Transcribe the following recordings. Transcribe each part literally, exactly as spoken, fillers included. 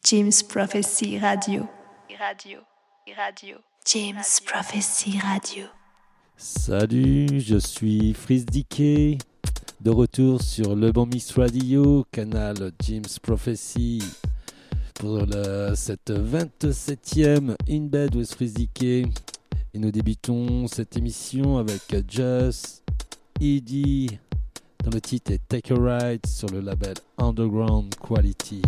James Prophecy Radio. Radio. Radio. James Prophecy Radio. Salut, je suis Freeze D K, de retour sur Le Bon Mix Radio, canal James Prophecy, pour le, cette vingt-septième In Bed with Freeze D K. Et nous débutons cette émission avec Just Edie, dont le titre est Take a Ride sur le label Underground Quality.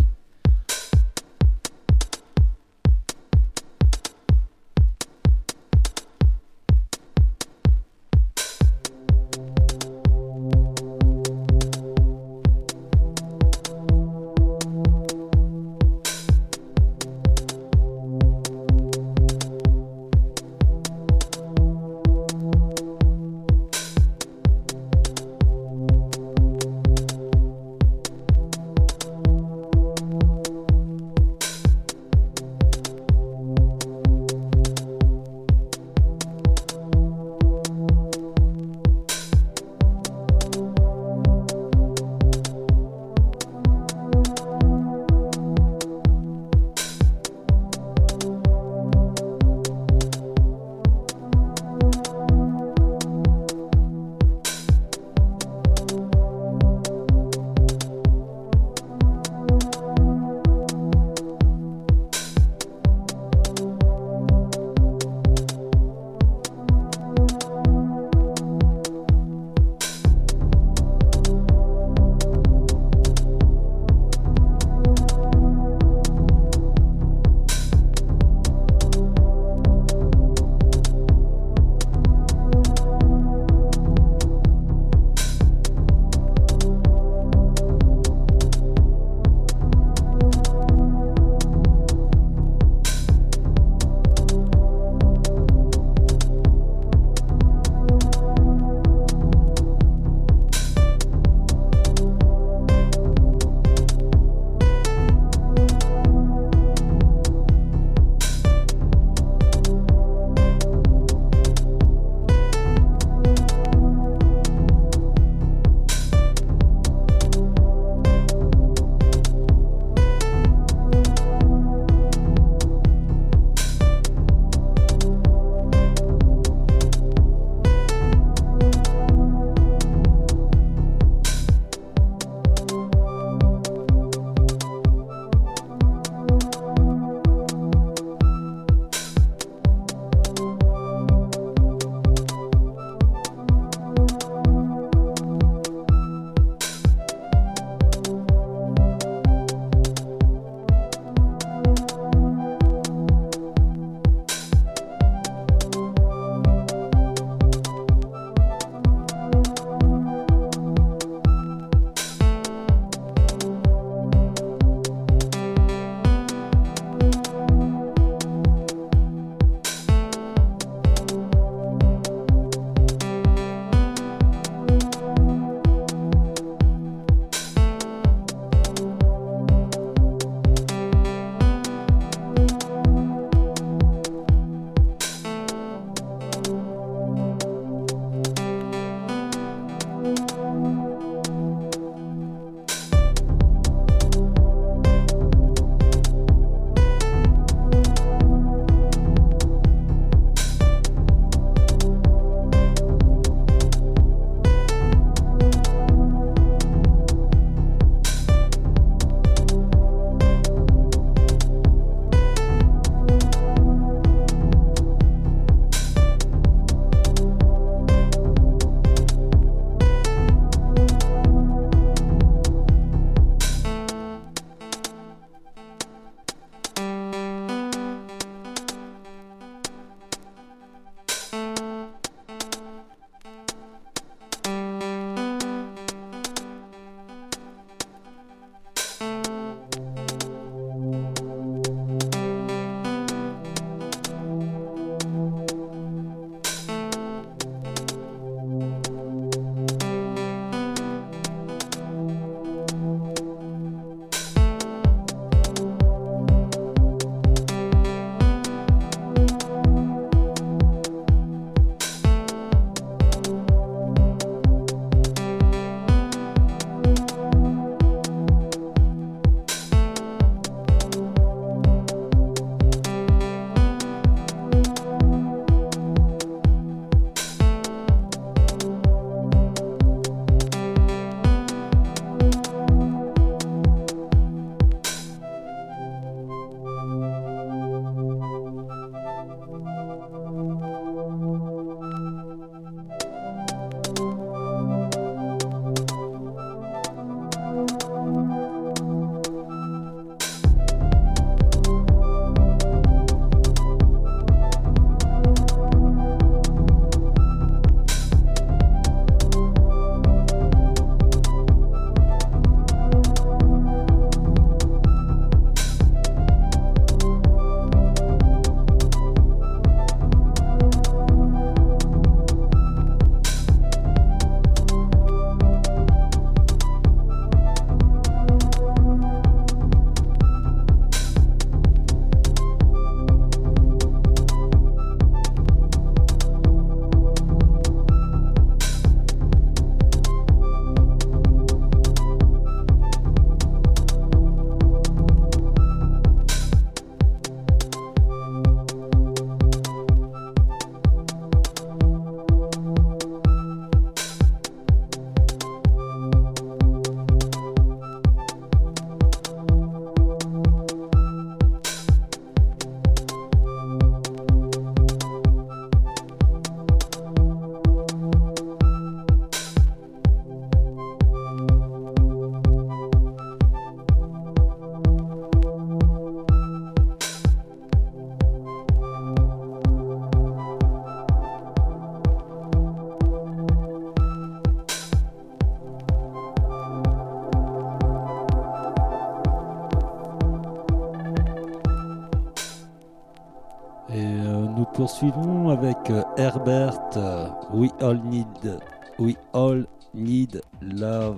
nous poursuivons avec euh, Herbert, euh, We All Need, We All Need Love,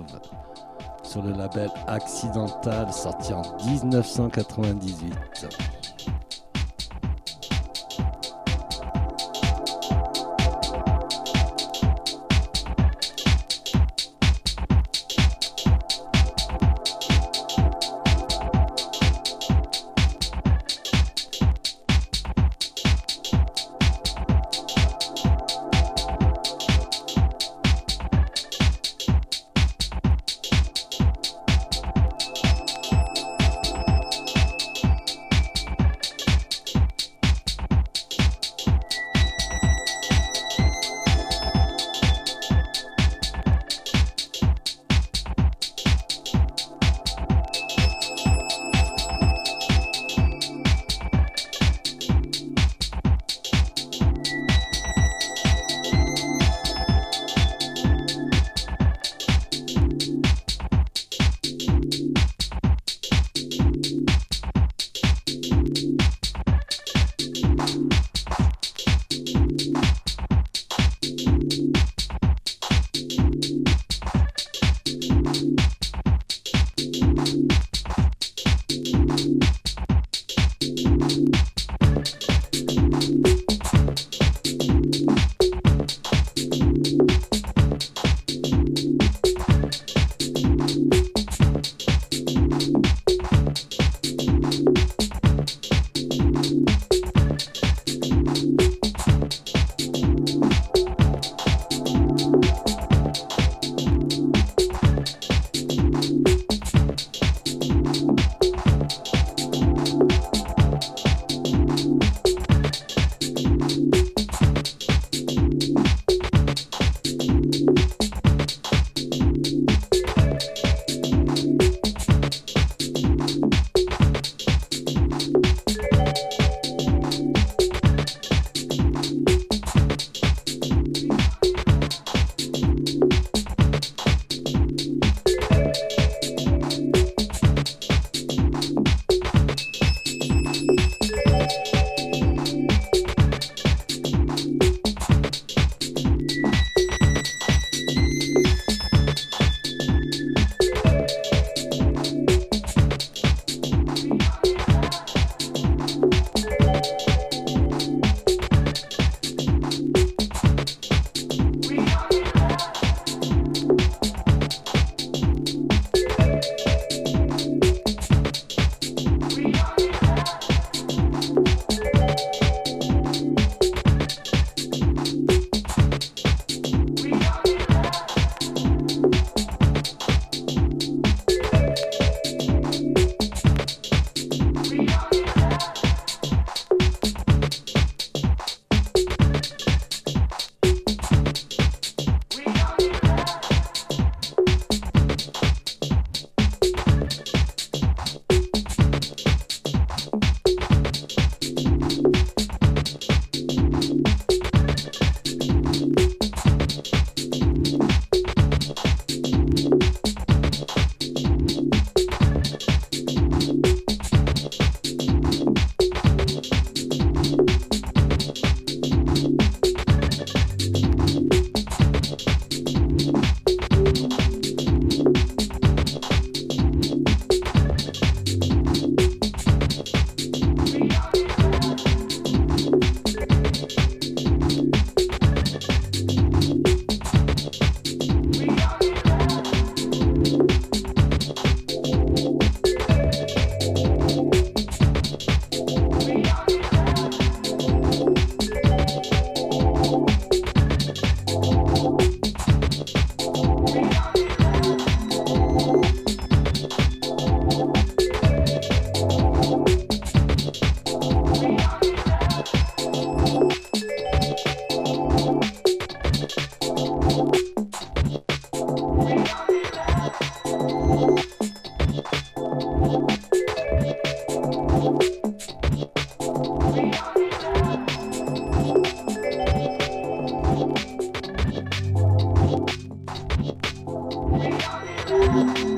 sur le label Accidental, sorti en dix-neuf cent quatre-vingt-dix-huit.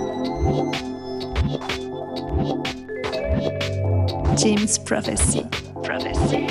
James Prophecy. Prophecy.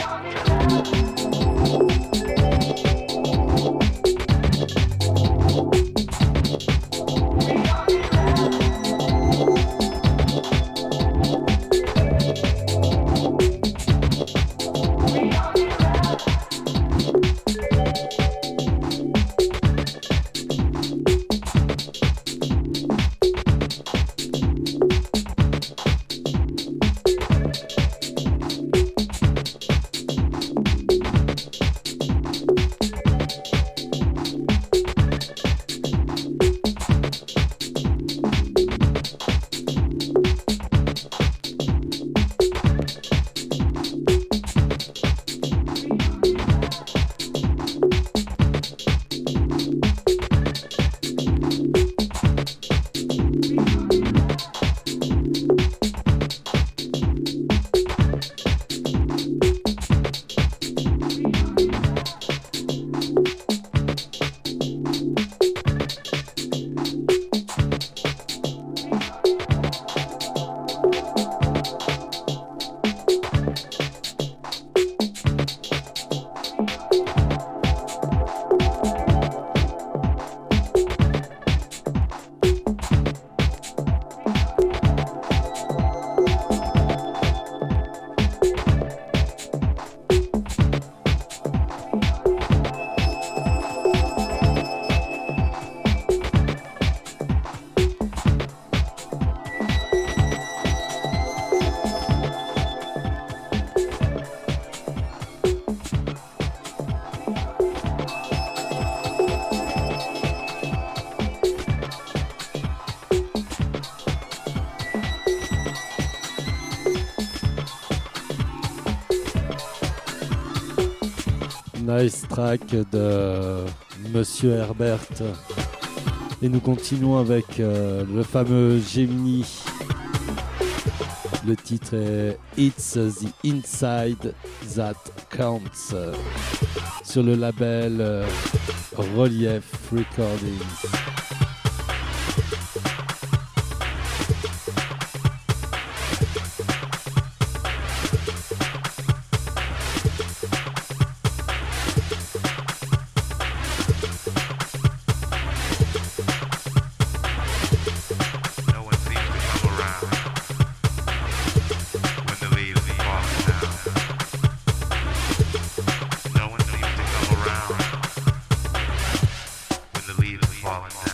Nice track de Monsieur Herbert. Et nous continuons avec euh, le fameux Gemini. Le titre est It's the Inside That Counts sur le label euh, Relief Recordings. Falling down.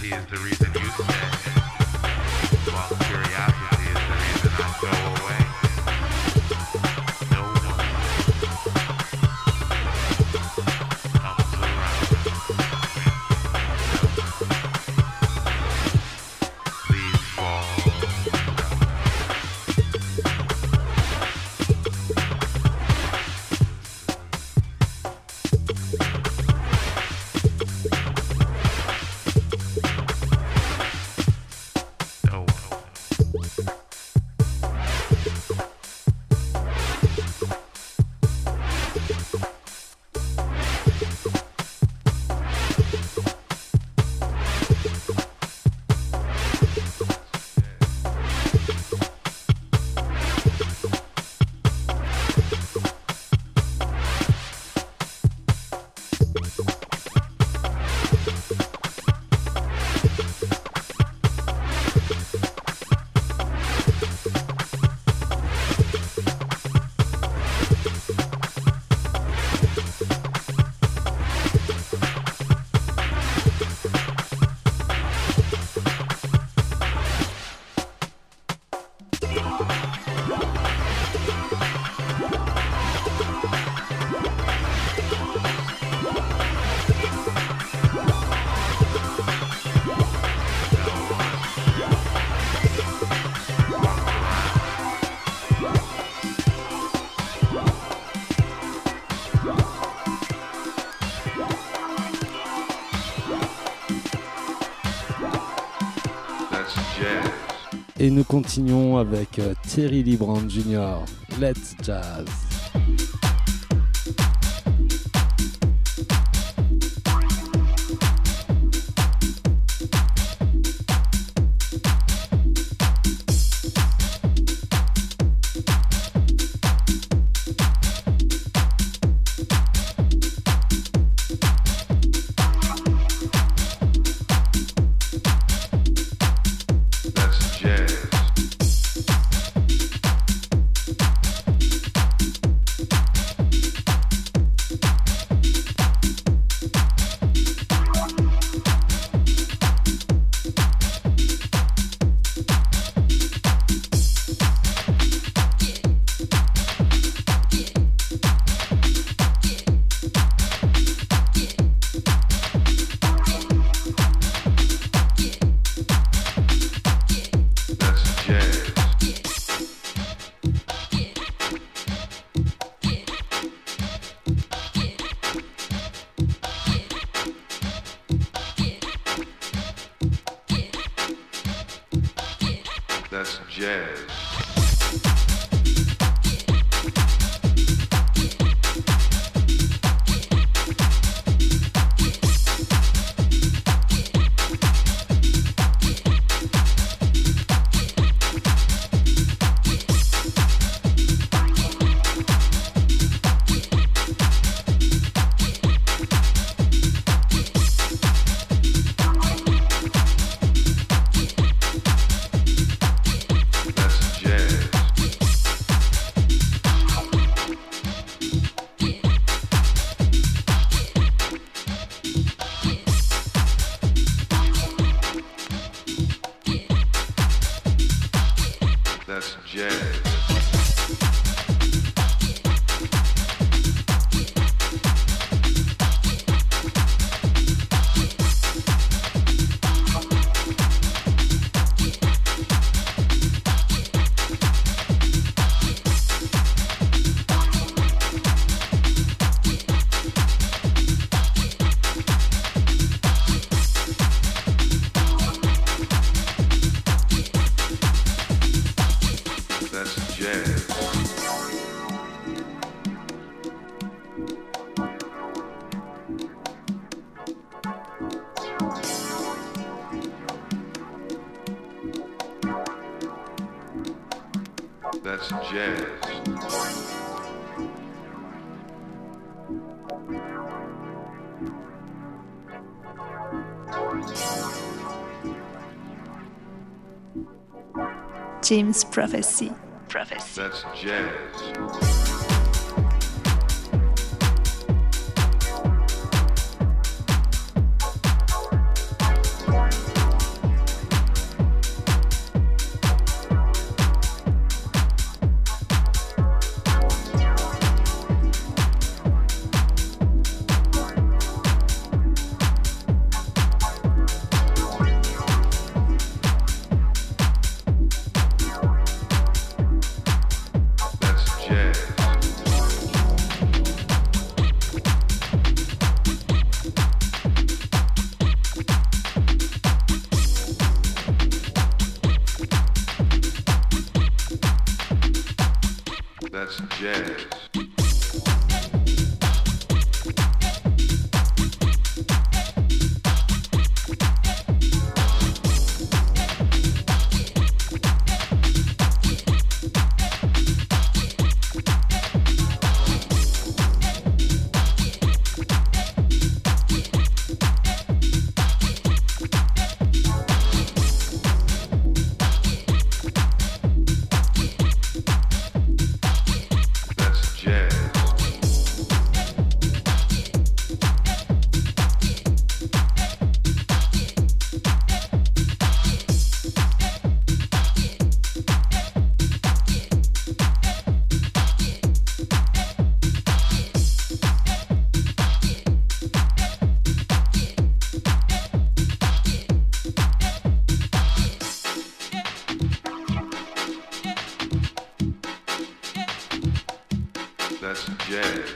Curiosity is the reason you stay, while curiosity is the reason I go away. No one comes around. Leaves fall. Et nous continuons avec euh, Terry Lee Brown junior Let's Jazz. That's jazz. That's jazz. That's jazz. Jim's Prophecy. Prophecy. That's jazz. jazz. That's jazz.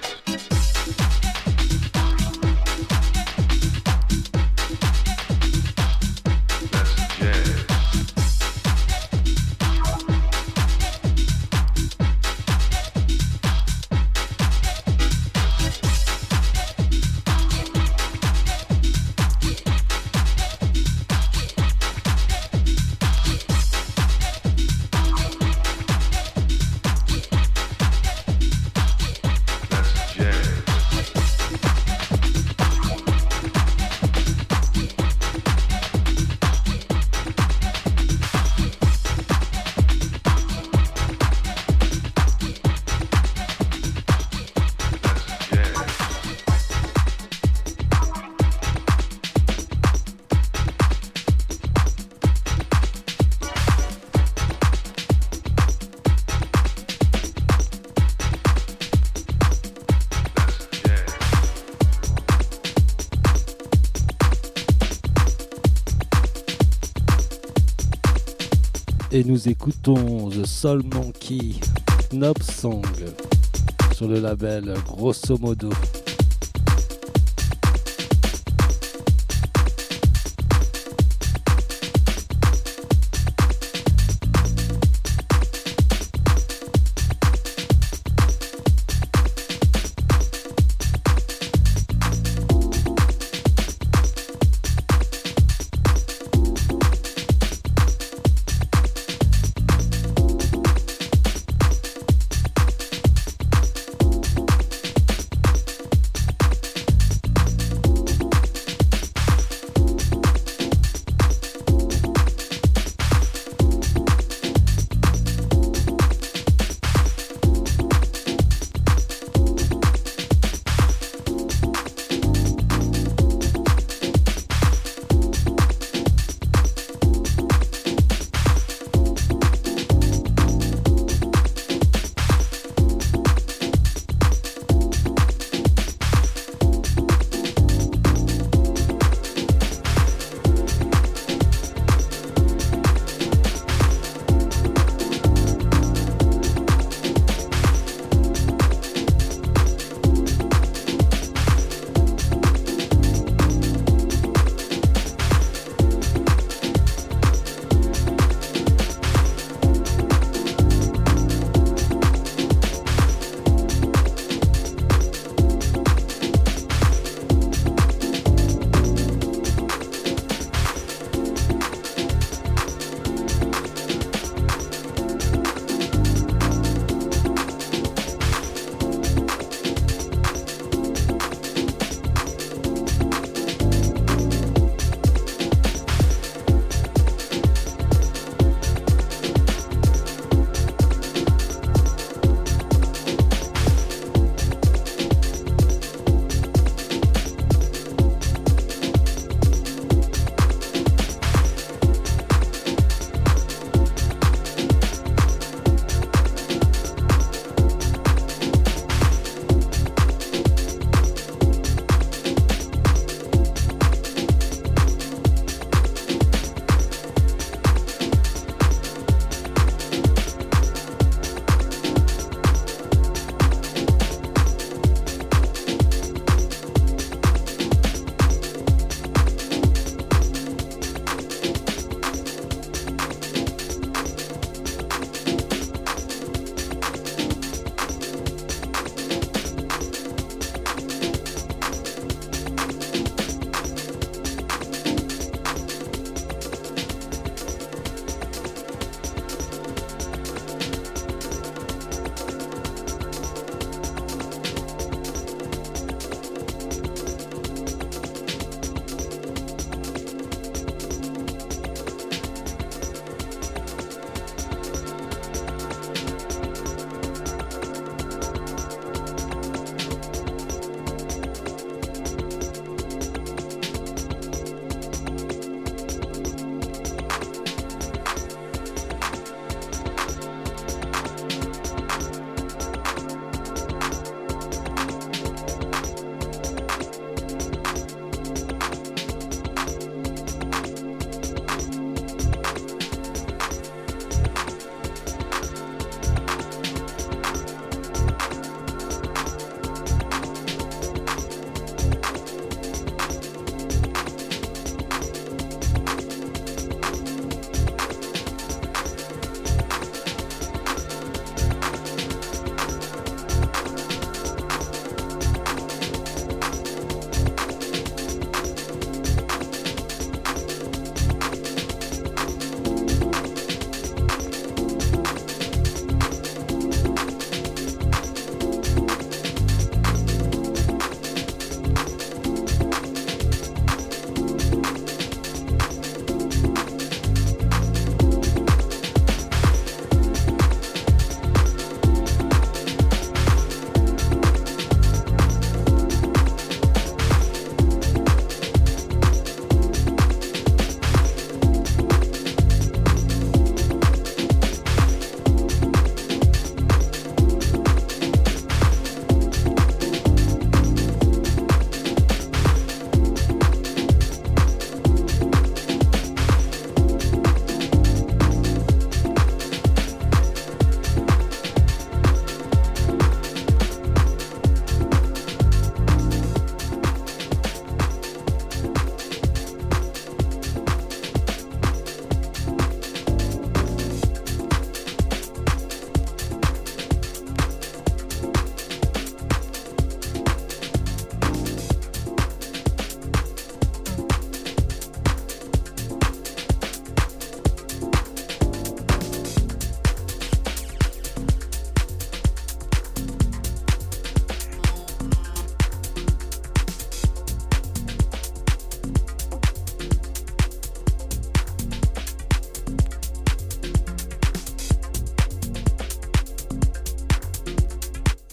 Et nous écoutons The Soul Monkey Knob Song sur le label Grosso Modo.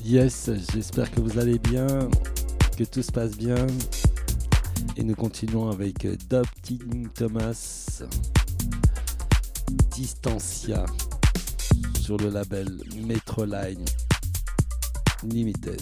Yes, j'espère que vous allez bien, que tout se passe bien. Et nous continuons avec Dopting Thomas, Distancia, sur le label Metroline Limited.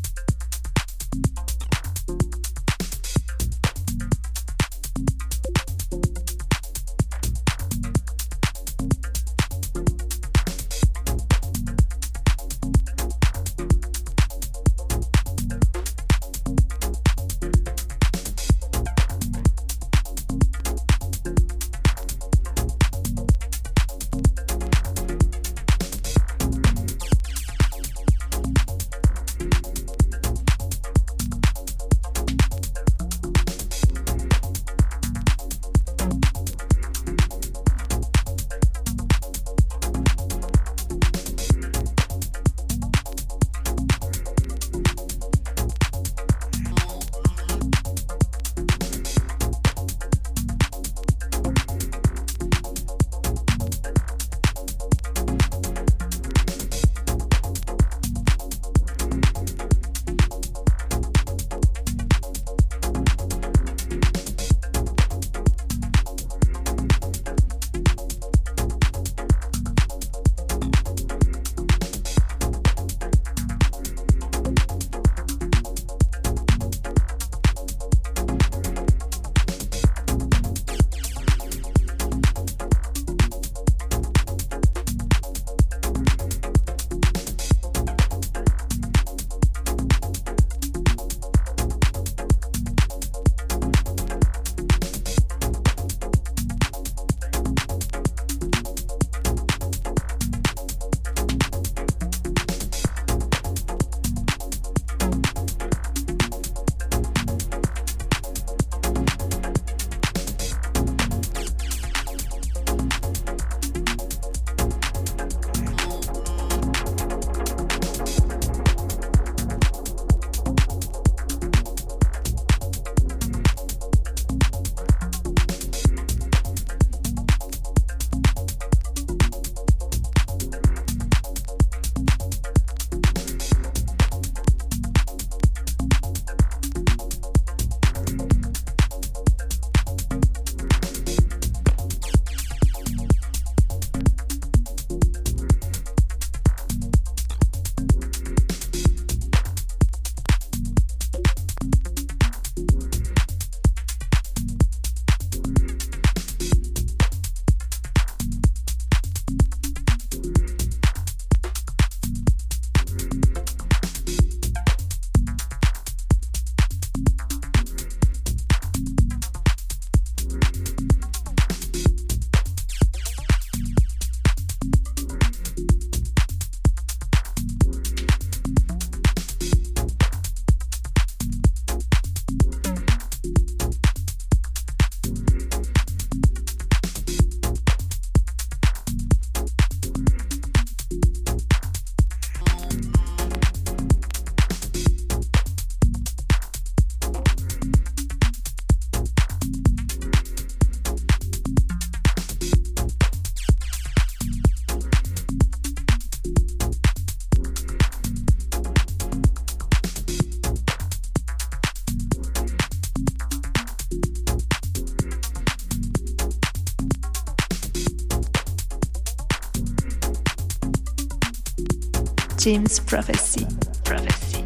Jim's Prophecy. Prophecy.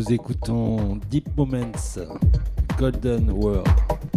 nous écoutons Deep Moments, Golden World.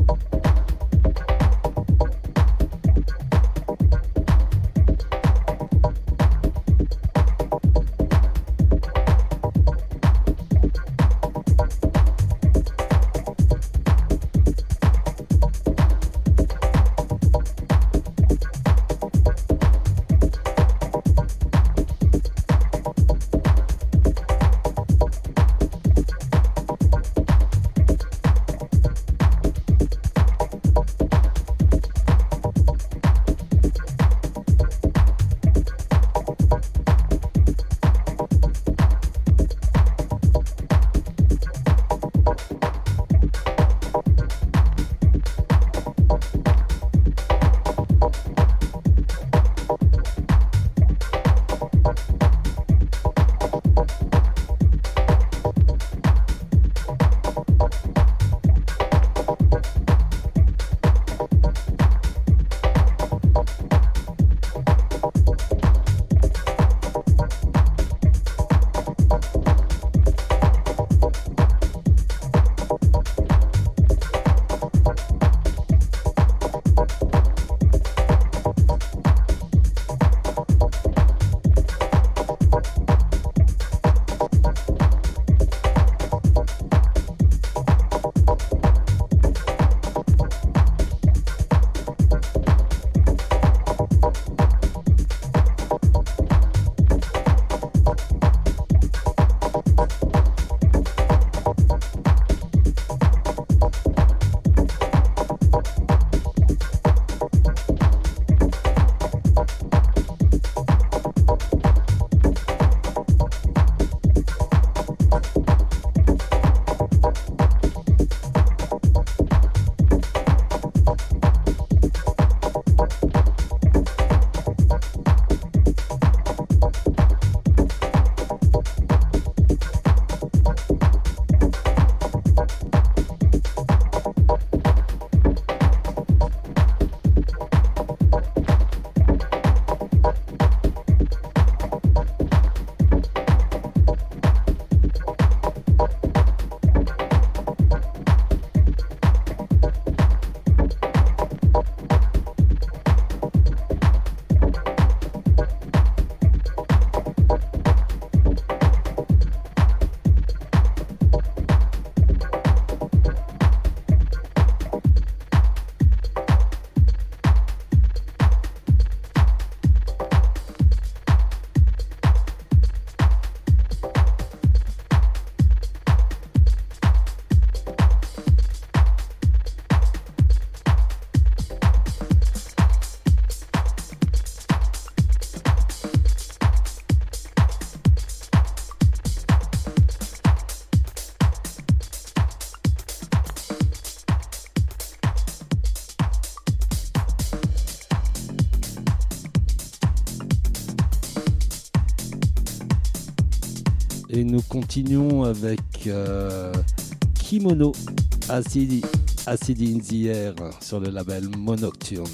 Et nous continuons avec euh, Kimono, Acid, Acid in the Air sur le label Monocturne.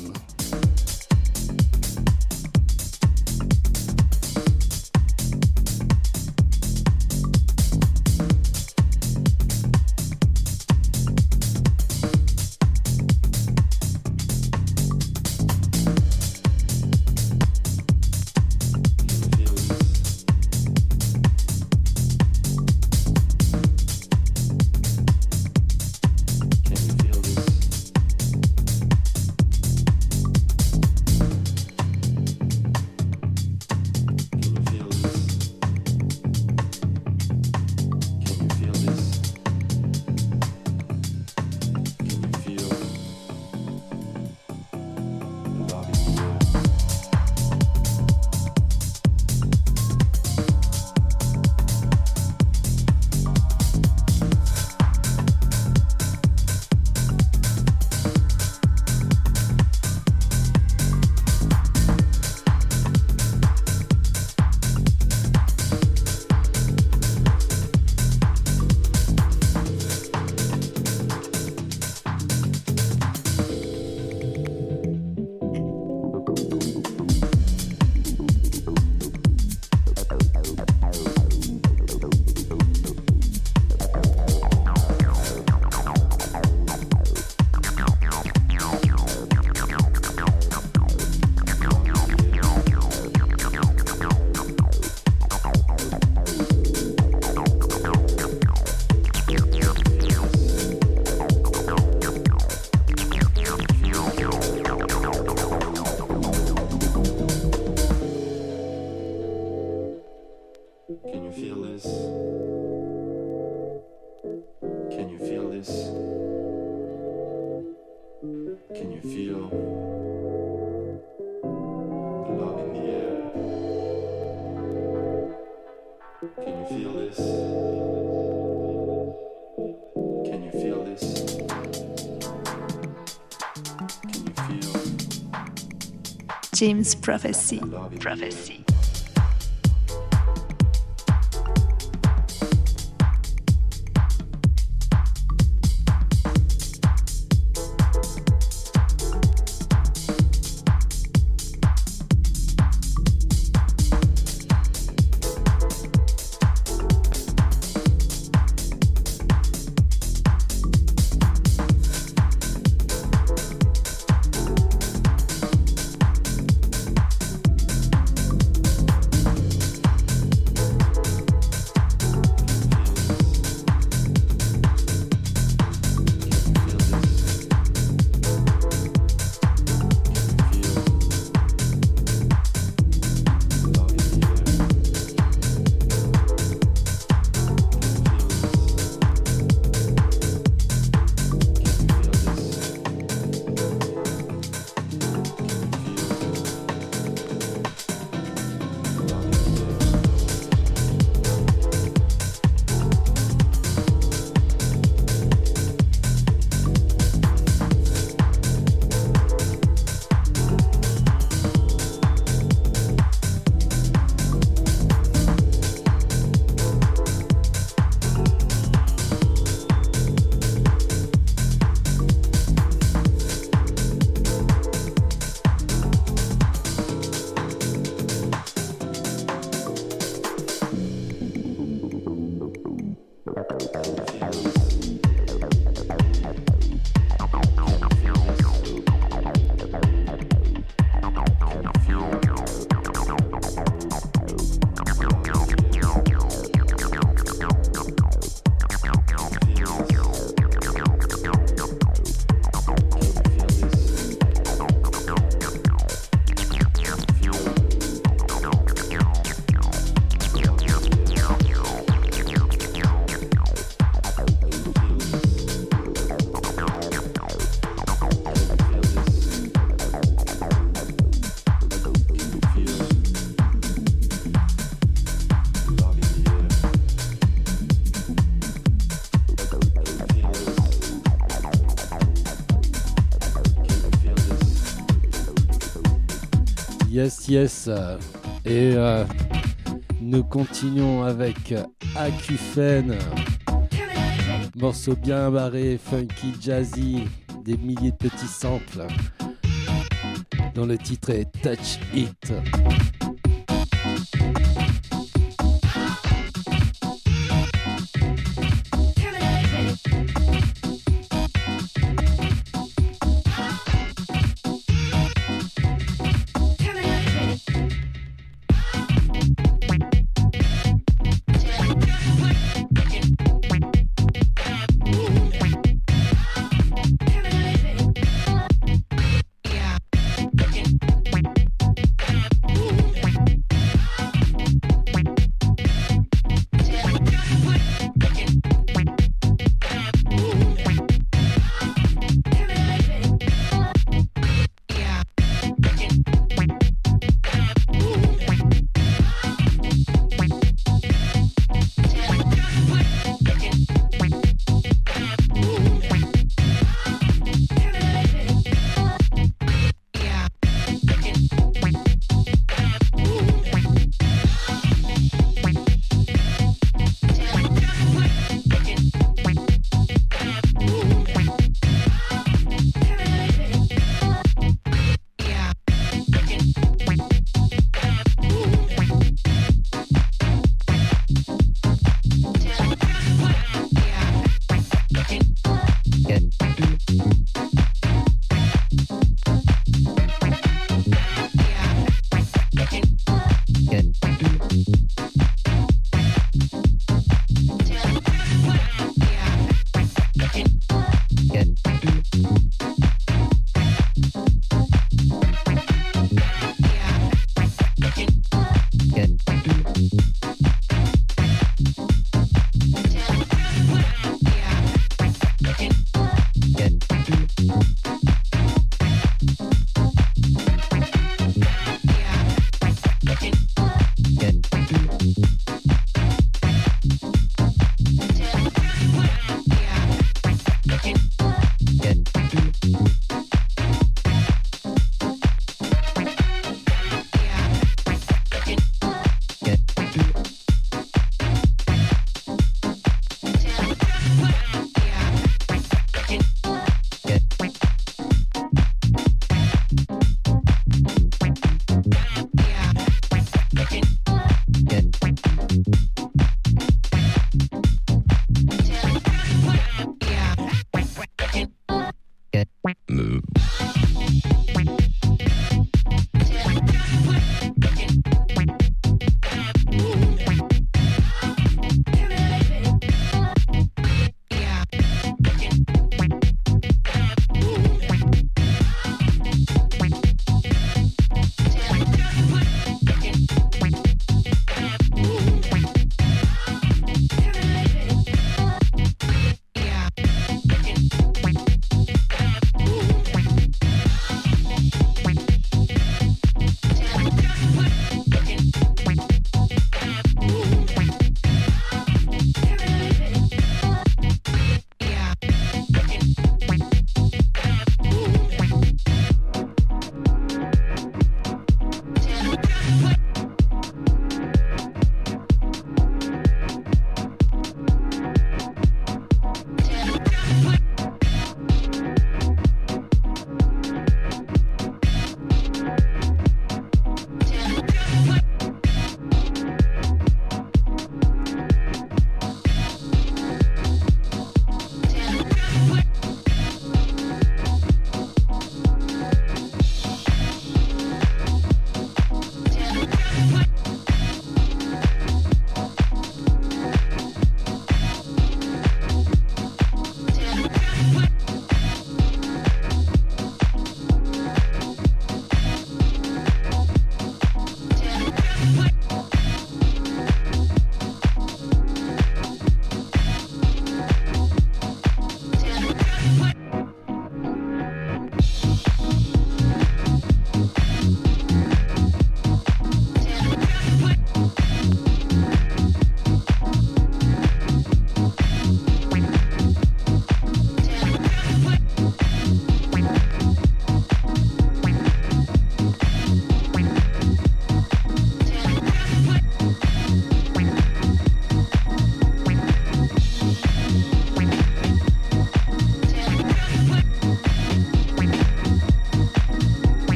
Can you feel this? feel this? Can you feel this? Can you feel the love in the air? Can you feel this? Can you feel this? Can you feel Jim's Prophecy. the love in the air? Prophecy. Yes, yes. Et euh, nous continuons avec Acufène. Morceau bien barré, funky, jazzy, des milliers de petits samples. Dont le titre est Touch It.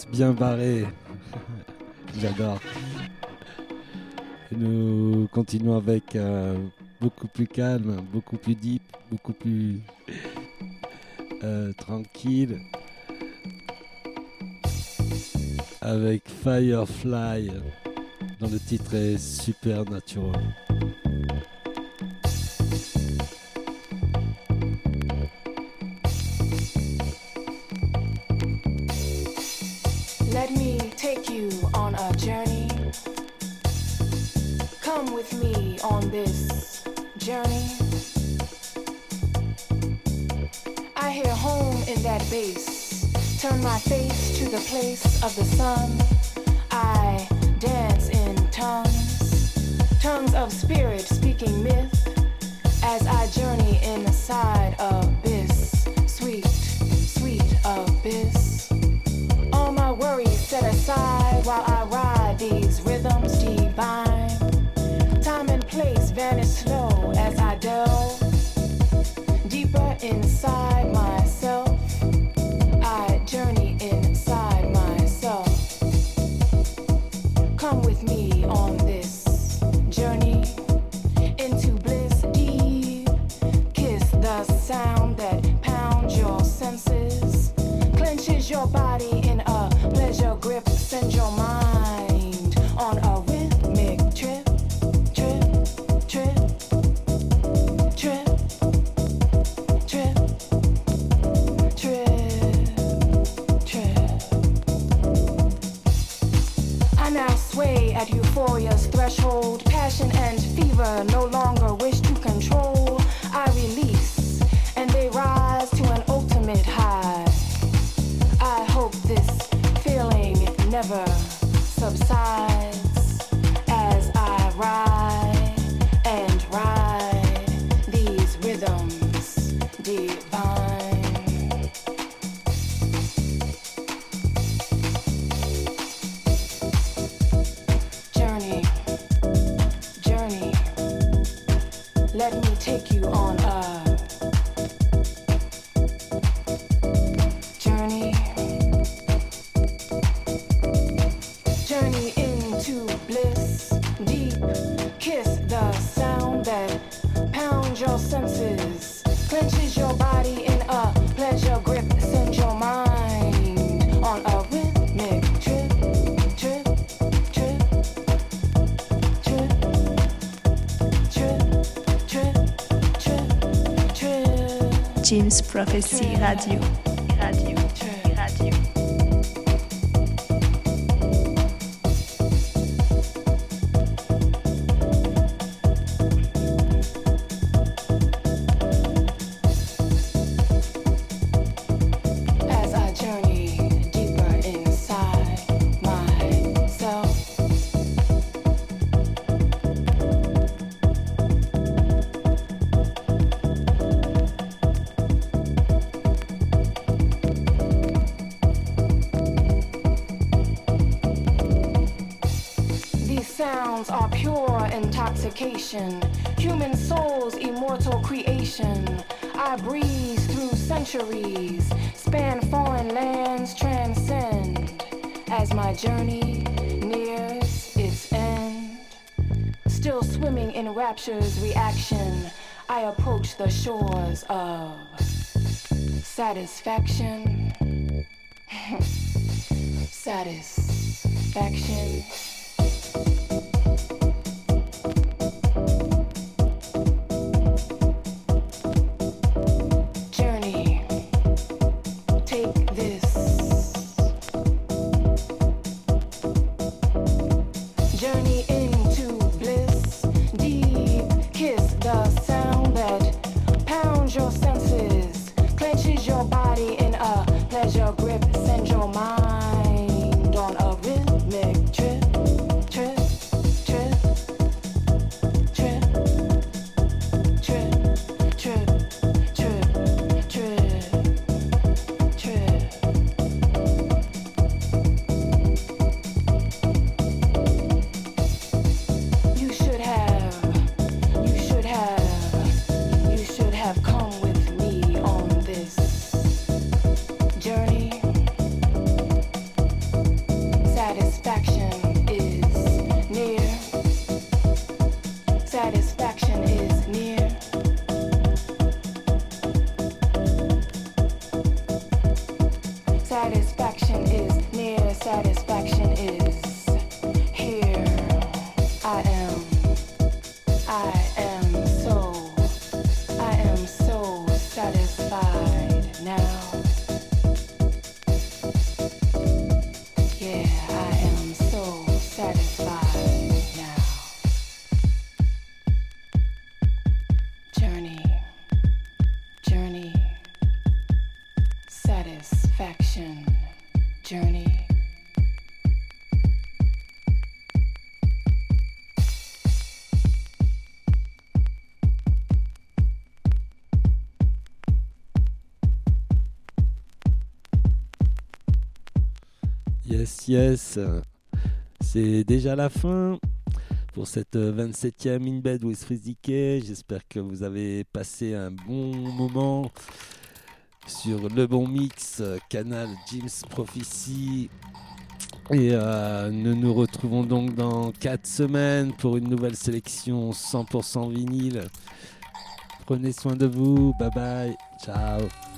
basse bien barrée. J'adore. Et nous continuons avec euh, beaucoup plus calme, beaucoup plus deep, beaucoup plus euh, tranquille. Avec Firefly, dont le titre est Supernatural. Let me take you on a journey. Come with me on this journey. I hear home in that bass. Turn my face to the place of the sun. I dance in tongues, tongues of spirit speaking myth. As I journey inside abyss, sweet, sweet abyss. All my worries set aside while I ride these rhythms divine. Time and place vanish slow as I delve deeper inside myself. I journey inside myself. Come with me on this journey into bliss deep. Kiss the sound that pounds your senses, clenches your body in a pleasure grip, send your mind on a rhythmic trip, trip, trip, trip, trip, trip, trip. I now sway at euphoria's threshold, passion and fever no longer wish to control. I release and they rise to an ultimate high. I hope this feeling never subsides as I ride and ride these rhythms divine. Journey, journey, let me take you on a journey. Journey into bliss, deep, kiss the sound that pounds your senses, clenches your body in a pleasure grip, send your mind on a rhythmic trip, trip, trip, trip, trip, trip, trip, trip. Jim's Prophecy Radio. Radio. Radio. As I journey deeper inside myself. These sounds are pure intoxication, human soul's immortal creation. I breeze through centuries, span foreign lands, transcend as my journey nears its end. Still swimming in rapture's reaction, I approach the shores of satisfaction. Satisfaction. Journey, take this. Journey into bliss, deep, kiss the sound that pounds your senses, clenches your body in a pleasure grip, send your mind on a rhythmic trip, trip, satisfaction is near. Satisfaction is near. Satisfaction is near. Satisfaction is here. I am. I am so. I am so satisfied now. Yeah, I am so satisfied now. Journey, journey, satisfaction, journey. Yes, yes. C'est déjà la fin pour cette vingt-septième In Bed with Freeze D K. J'espère que vous avez passé un bon moment sur le bon mix, canal Jim's Prophecy. Et euh, nous nous retrouvons donc dans quatre semaines pour une nouvelle sélection cent pour cent vinyle. Prenez soin de vous. Bye bye. Ciao.